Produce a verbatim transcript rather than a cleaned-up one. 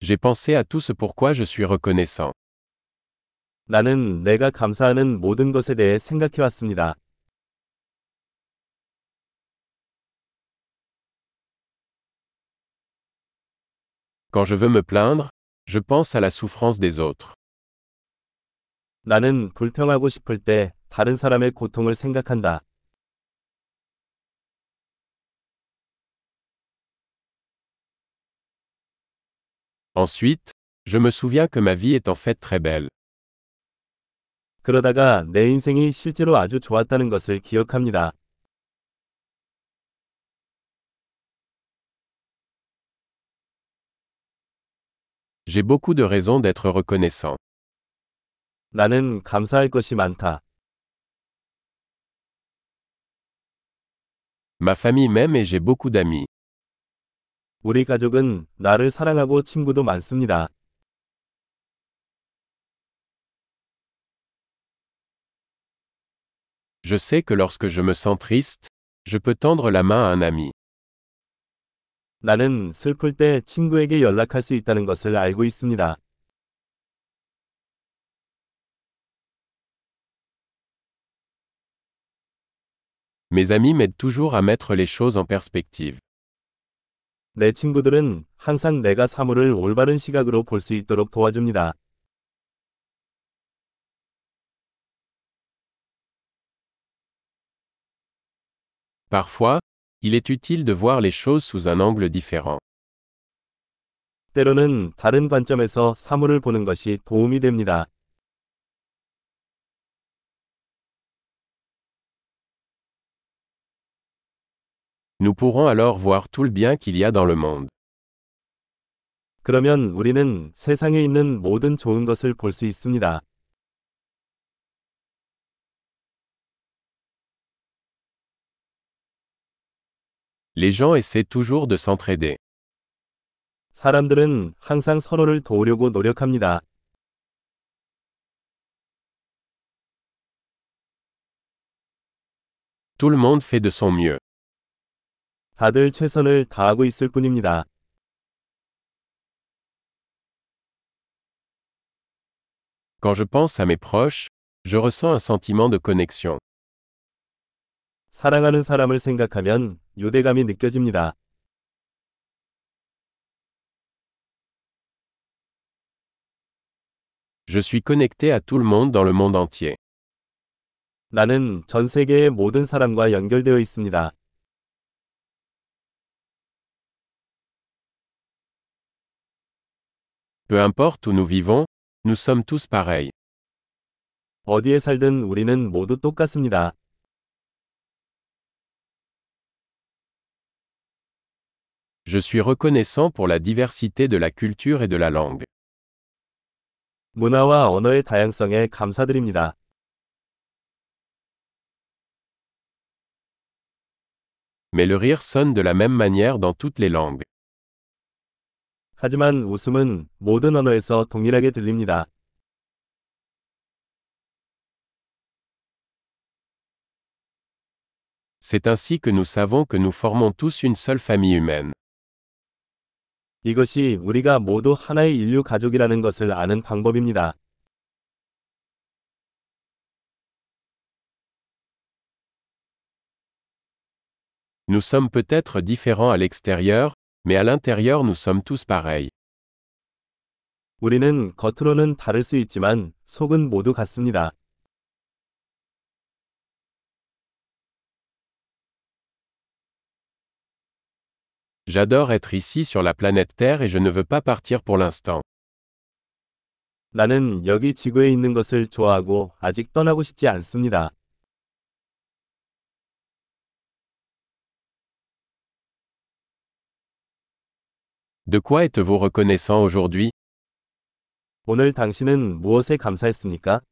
J'ai pensé à tout ce pourquoi je suis reconnaissant. 나는 내가 감사하는 모든 것에 대해 생각해 왔습니다. Quand je veux me plaindre, je pense à la souffrance des autres. 나는 불평하고 싶을 때 다른 사람의 고통을 생각한다. Ensuite, je me souviens que ma vie est en fait très belle. 그러다가 내 인생이 실제로 아주 좋았다는 것을 기억합니다. J'ai beaucoup de raisons d'être reconnaissant. 나는 감사할 것이 많다. Ma famille m'aime et j'ai beaucoup d'amis. 우리 가족은 나를 사랑하고 친구도 많습니다. Je sais que lorsque je me sens triste, je peux tendre la main à un ami. 나는 슬플 때 친구에게 연락할 수 있다는 것을 알고 있습니다. Mes amis m'aident toujours à mettre les choses en perspective. 내 친구들은 항상 내가 사물을 올바른 시각으로 볼 수 있도록 도와줍니다. Parfois, il est utile de voir les choses sous un angle différent. 때로는 다른 관점에서 사물을 보는 것이 도움이 됩니다. Nous pourrons alors voir tout le bien qu'il y a dans le monde. 그러면 우리는 세상에 있는 모든 좋은 것을 볼 수 있습니다. Les gens essaient toujours de s'entraider. 사람들은 항상 서로를 도우려고 노력합니다. Tout le monde fait de son mieux. 다들 최선을 다하고 있을 뿐입니다. Quand je pense à mes proches, je ressens un sentiment de connexion. 사랑하는 사람을 생각하면 유대감이 느껴집니다. Je suis connecté à tout le monde dans le monde entier. 나는 전 세계의 모든 사람과 연결되어 있습니다. Peu importe où nous vivons, nous sommes tous pareils. 어디에 살든 우리는 모두 똑같습니다. Je suis reconnaissant pour la diversité de la culture et de la langue. 문화와 언어의 다양성에 감사드립니다. Mais le rire sonne de la même manière dans toutes les langues. 하지만 웃음은 모든 언어에서 동일하게 들립니다. C'est ainsi que nous savons que nous formons tous une seule famille humaine. 이것이 우리가 모두 하나의 인류 가족이라는 것을 아는 방법입니다. Nous sommes peut-être différents à l'extérieur, mais à l'intérieur nous sommes tous pareils. 우리는 겉으로는 다를 수 있지만 속은 모두 같습니다. J'adore être ici sur la planète Terre et je ne veux pas partir pour l'instant. 나는 여기 지구에 있는 것을 좋아하고 아직 떠나고 싶지 않습니다. De quoi êtes-vous reconnaissant aujourd'hui? 오늘 당신은 무엇에 감사했습니까?